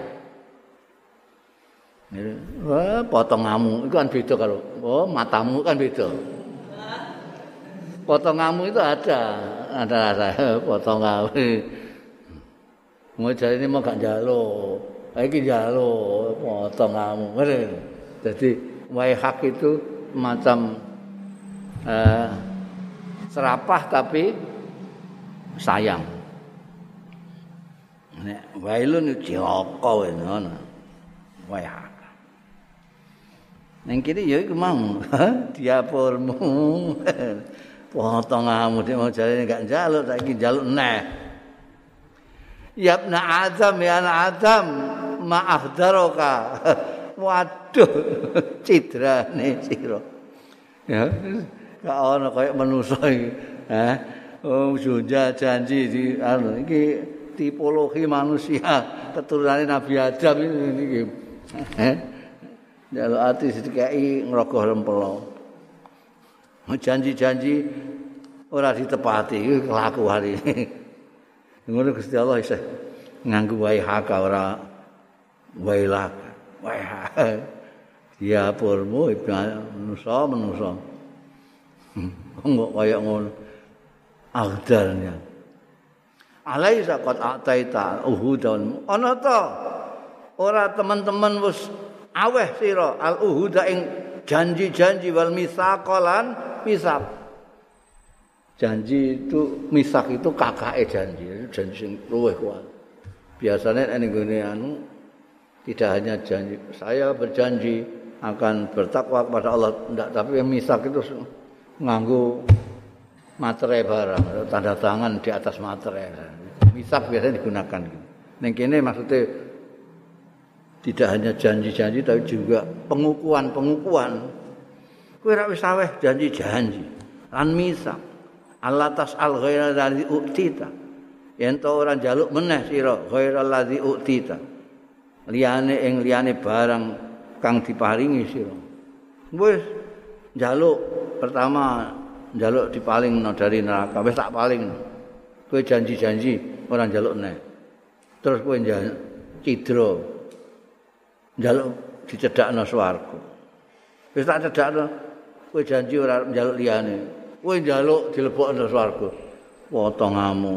Wah, potonganmu itu kan beda karo oh, matamu kan beda. Potonganmu itu ada, ada rasa potonganmu. Mau jare ini mau gak njaluk. Iki njaluk potonganmu. Jadi waihak itu macam eh, serapah tapi sayang. Nek wailun cilaka ngono. Waihak. Neng kene ya iku mau diapurmu. Potonganmu nek mau jare gak njaluk saiki njaluk neh. Ya ibna Adam ya anak Adam maaf daroka. Waduh, cidrane sira. Ya, gak ana kaya manusa iki. Heh. Oh, sudah janji di anu iki tipologi manusia keturunane Nabi Adam ini iki. Heh. Jaluk ati dikeki ngrogoh rempela. Janji-janji ora ditepati iki kelakuan iki. Ngono Gusti Allah isih nganggo waihaka ora wailaka. Wah, dia purmu manusa manusa. Kok kaya ngono. Agdarnya. Alaisa qad ataita uhudan. Ana ta ora teman-teman wis aweh sira al uhuda ing janji-janji wal misaqalan misaq. Janji itu misak itu kakake janji, janji sing luwih kuat. Biasanya ning gone anu tidak hanya janji, saya berjanji akan bertakwa kepada Allah, enggak, tapi yang misak itu nganggo materai barang, tanda tangan di atas materai. Misab biasanya digunakan. Ning kene maksudnya tidak hanya janji-janji tapi juga pengukuhan-pengukuhan. Kowe ra wis aweh janji-janji. Lan misab. Allah tas'al ghaira allazi u'tita. Yen to ora njaluk meneh sira ghaira allazi u'tita. Liyane ing liyane barang kang diparingi sira. Wis njaluk pertama njaluk dipalingno dari neraka wis tak palingno. Kowe janji-janji ora njaluk neh. Terus kowe njaluk cidra. Njaluk dicedhakno swarga. Wis tak cedhakno kowe janji ora njaluk liyane. Kowe njaluk dilebokno swarga. Potongamu.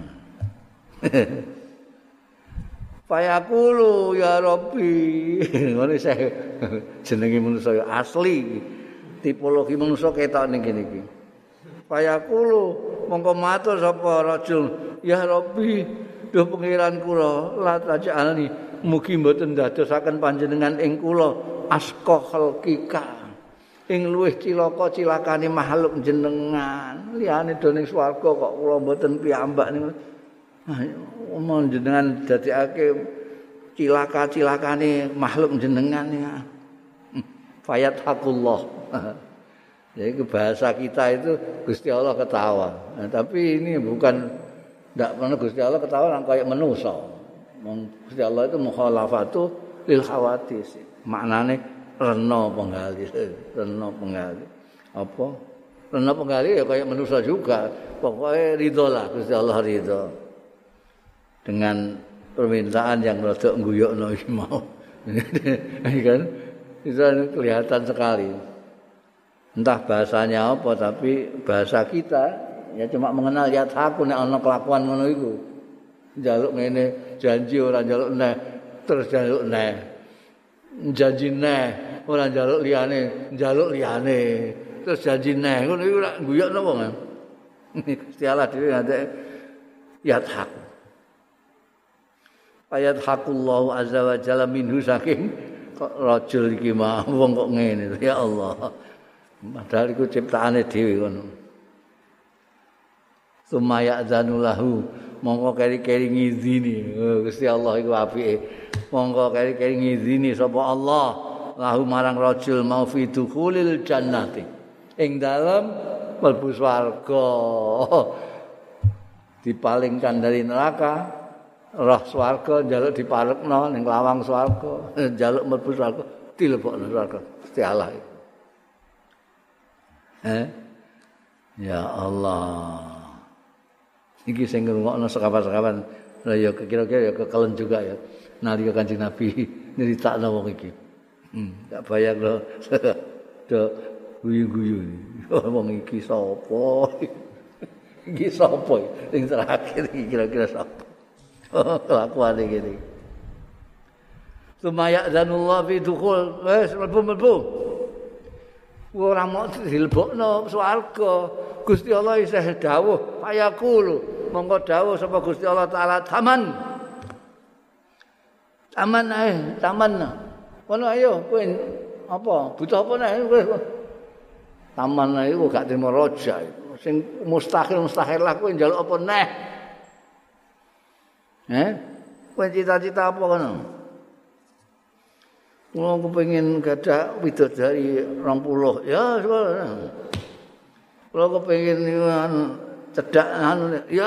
Fayaqulu ya Rabbi. Ngene saya jenenge manusa asli. Tipologi manusa ketok ning kene iki. Fayaqulu mongko matur sapa rajul, ya Rabbi, duh pangeran kula, la taj'alni mugi mboten dadosaken panjenengan ing kula asqa khalqika. Ing luwih cilaka cilakane makhluk jenengan. Liyane do ning swarga kok kula mboten piyambak niku. Omong jenengan dadekake cilaka-cilakane makhluk jenengan ya. Fayat hakullah. Jadi bahasa kita itu Gusti Allah ketawa. Nah, tapi ini bukan ndak pernah Gusti Allah ketawa nang kayak manusa. Gusti Allah itu mukhalafatu lil khawatis. Maknane rena penggali, rena penggali. Apa? Rena penggali ya kayak manusa juga. Pokoknya ridho lah Gusti Allah ridho. Dengan permintaan yang rada ngguyokno iki mau. Kan itu kelihatan sekali. Entah bahasanya apa tapi bahasa kita ya cuma mengenal lihat aku nek ana kelakuan ngono iku. Njaluk ngene, janji ora njaluk neh, terus njaluk neh. Janji neh, ora njaluk liyane, njaluk liyane. Terus janji neh, ngono iku ora guyokno wong. Gusti Allah dhewe ngate lihat aku. Ayat hakullahu azza wa jalla minhu saking kok rajul iki mah wong kok ngene ya Allah. Padahal iku ciptaane dhewe ngono. Sumaya zanulahu monggo keri-keri ngizini. Oh, Gusti Allah iku apike. Monggo keri-keri ngizini sapa Allah lahu marang rajul mau fi dukhulil jannati. Ing dalem mlebu swarga. Dipalingkan dari neraka, roh swarga njaluk diparekno ning lawang swarga, njaluk mlebu swarga, dilebokno swarga. Gusti Allah. Eh? Ya Allah. Iki sing ngrungokno sekapan-sekapan ya kira-kira ya kekelen juga ya. Nalika Kanjeng Nabi nyritakno wong iki. Hmm, tak bayangno do guyu-guyu. Wong iki sapa? Iki sapa? Sing terakhir iki kira-kira sapa? Kelakuan iki. Sumaya zanullah fi dukhul, wes mlebu-mlebu. Ora mau dilebokno swarga. Gusti Allah isih dawuh, fayaqulu, monggo dawuh sapa Gusti Allah taala taman. Taman ae, taman. Kono ayo kowe apa? Butuh apa nek kowe? Taman ae kok gak trimo raja. Sing mustahil-mustahil lah kowe njaluk apa neh? Eh? Kowe cita-cita apa kono? Kula kepengin gadah widodari rong puluh. Ya, kula kepengin cedak anu ya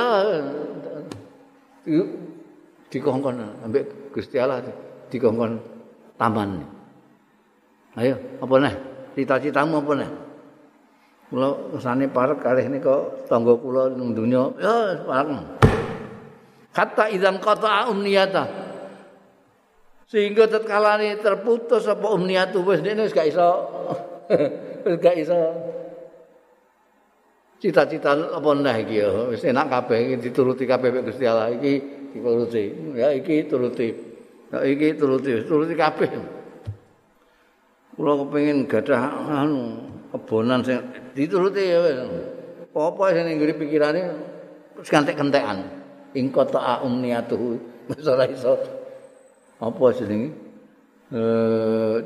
dikongkon ambek Gusti Allah dikongkon taman. Ayo, apa neh? Cita-citamu apa neh? Kula kesane parek kalih nika tangga kula ning donya. Ya, parek. Kata idzan qata'a umniyata. Sehingga tatkalane terputus apa umniyatu wis dene wis gak iso wis gak iso cita-cita apa neh iki ya wis enak kabeh iki dituruti kabeh Gusti Allah iki dituruti ya iki turuti ya iki turuti turuti kabeh kula kepengin gadah anu kebonan sing dituruti ya wis apa sing ning pikirane wis kantek-kentekan ing kota umniyatu wis ora iso apa jenenge eh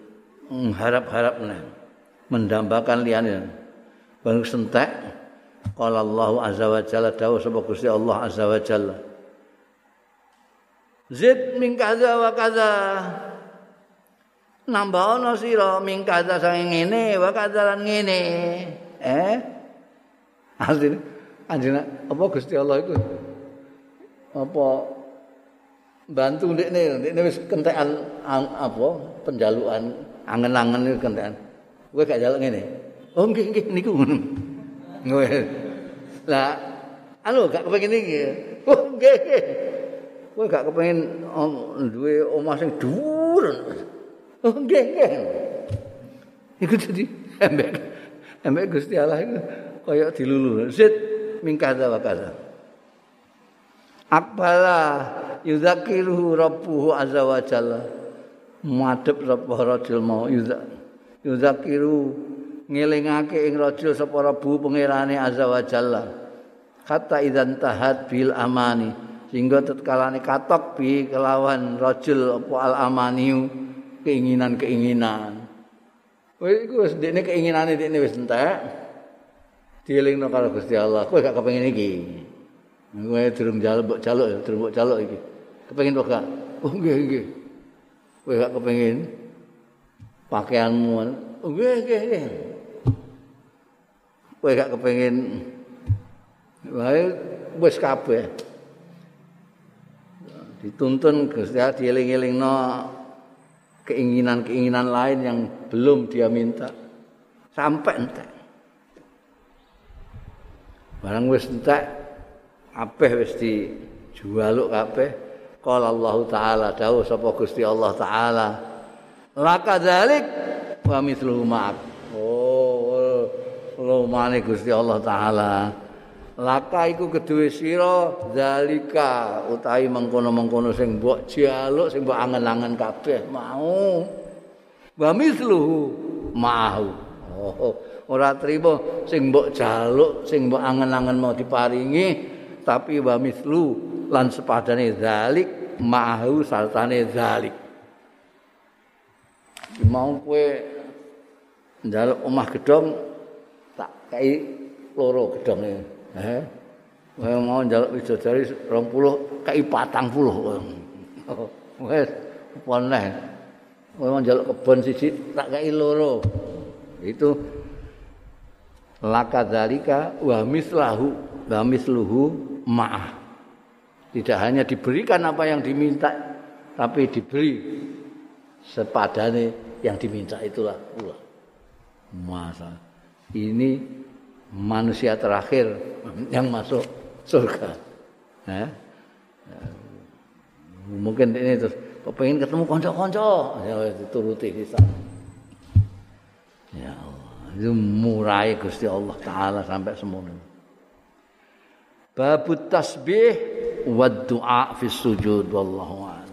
harap-harap nah mendambakan liyane baru sentek Qala Allah azza wa jalla dawuh sapa Gusti Allah azza wa jalla. Zid min kaza wa kaza. Nambah ana sira min kaza saking ngene wa kaza lan ngene. Eh? Asline anjene apa Gusti Allah iku apa bantu ndekne ndekne wis kentekan apa penjalukan angen-angen iku kentekan. Kowe gak njaluk ngene. Oh nggih nggih niku ngono. Ngono. Lah, anu gak kepengin iki. Oh nggih. Kowe gak kepengin duwe omah sing dhuwur. Oh nggih nggih. Iku dadi embek. Embek Gusti Allah iku kaya dilulu. Zid mingkaza wa kaza. Aqbala yudzakiruhu rabbuhu azza wa jalla. Madhep sapa rajul mau yudzakiru ngelingake ing rajul sapa Rabbu pangerane azza wa jalla kata idzan tahat bil amani sehingga tetkalane katok bi kelawan rajul apa al amaniu keinginan-keinginan wis iku wis ndekne keinginane ndekne wis entek dielingno karo Gusti Allah kowe gak kepengin iki kowe durung jaluk jaluk durung jaluk iki kepengin to gak oh nggih nggih kowe gak kepengin pakaianmu oh nggih nggih nggih kowe gak kepengin wae wis kabeh dituntun Gusti Allah dieling-elingno keinginan-keinginan lain yang belum dia minta sampai entek barang wis entek kabeh wis dijualuk kabeh qala Allah taala dawuh sapa Gusti Allah taala lakadzalik wa mithluhu ma'ak oh lumane Gusti Allah taala laka iku kedue sira zalika utahi mengkono-mengkono sing mbok jaluk sing mbok angen-angen kabeh mau wa mithluhu mau oh ora trimo sing mbok jaluk sing mbok angen-angen mau diparingi tapi wa mithlu lan sepadane zalik mau sartane zalik mau kowe njaluk omah gedhong tak kei loro gedhonge eh kowe mau njaluk widodari dua puluh kei patang puluh wis apa neh kowe mau njaluk kebon siji tak kei loro itu lakadzalika wa mislahu wa misluhu ma'ah tidak hanya diberikan apa yang diminta tapi diberi sepadane yang diminta itulah pula masa ini manusia terakhir yang masuk surga ya. Mungkin ini terus pengen ketemu konco-konco ya dituruti kita ya Allah itu murai Gusti Allah taala sampai semono babut tasbih wa du'a fi sujud wallahu a'lam.